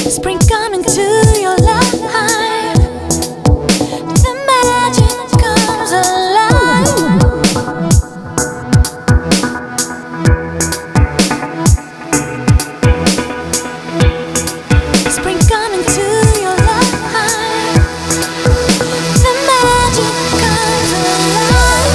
Spring coming to your life. The magic comes alive. Spring coming to your life. The magic comes alive.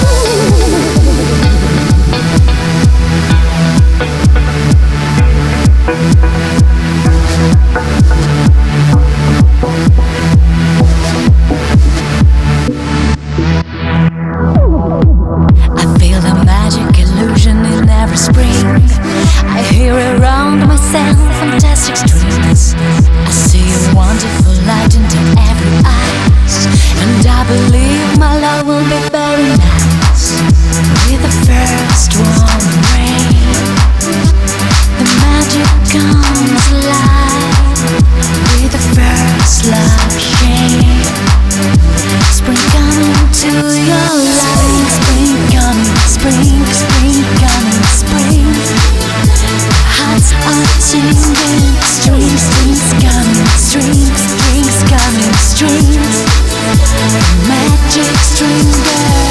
I feel the magic illusion in every spring. I hear around myself fantastic streams. I see a wonderful light into every eyes, and I believe my love will be very nice. With the first warm rain, the magic comes alive. With the first love shade, spring coming to your life. Spring coming, spring, spring coming, spring. Hearts are singing, strings, strings coming, strings, strings coming, strings. Magic string girl.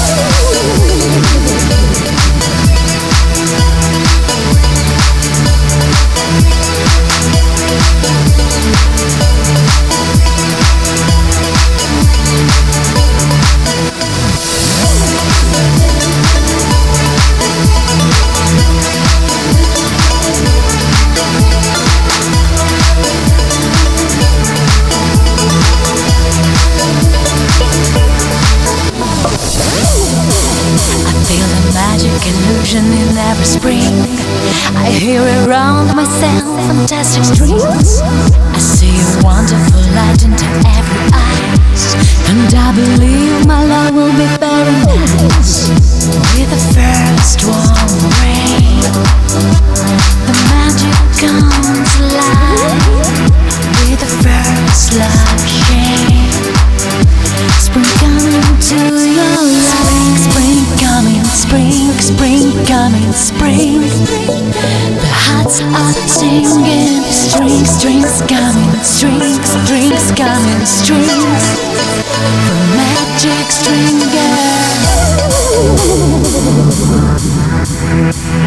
Magic illusion in every spring. I hear around myself fantastic streams. I see a wonderful light into every eyes, and I believe my love will be very nice. With the first warm rain, the magic comes alive. With the first love shade, spring coming to your life. Spring coming, spring, spring coming, spring. The hearts are singing, strings, strings coming, strings, strings coming, strings. The magic string girl.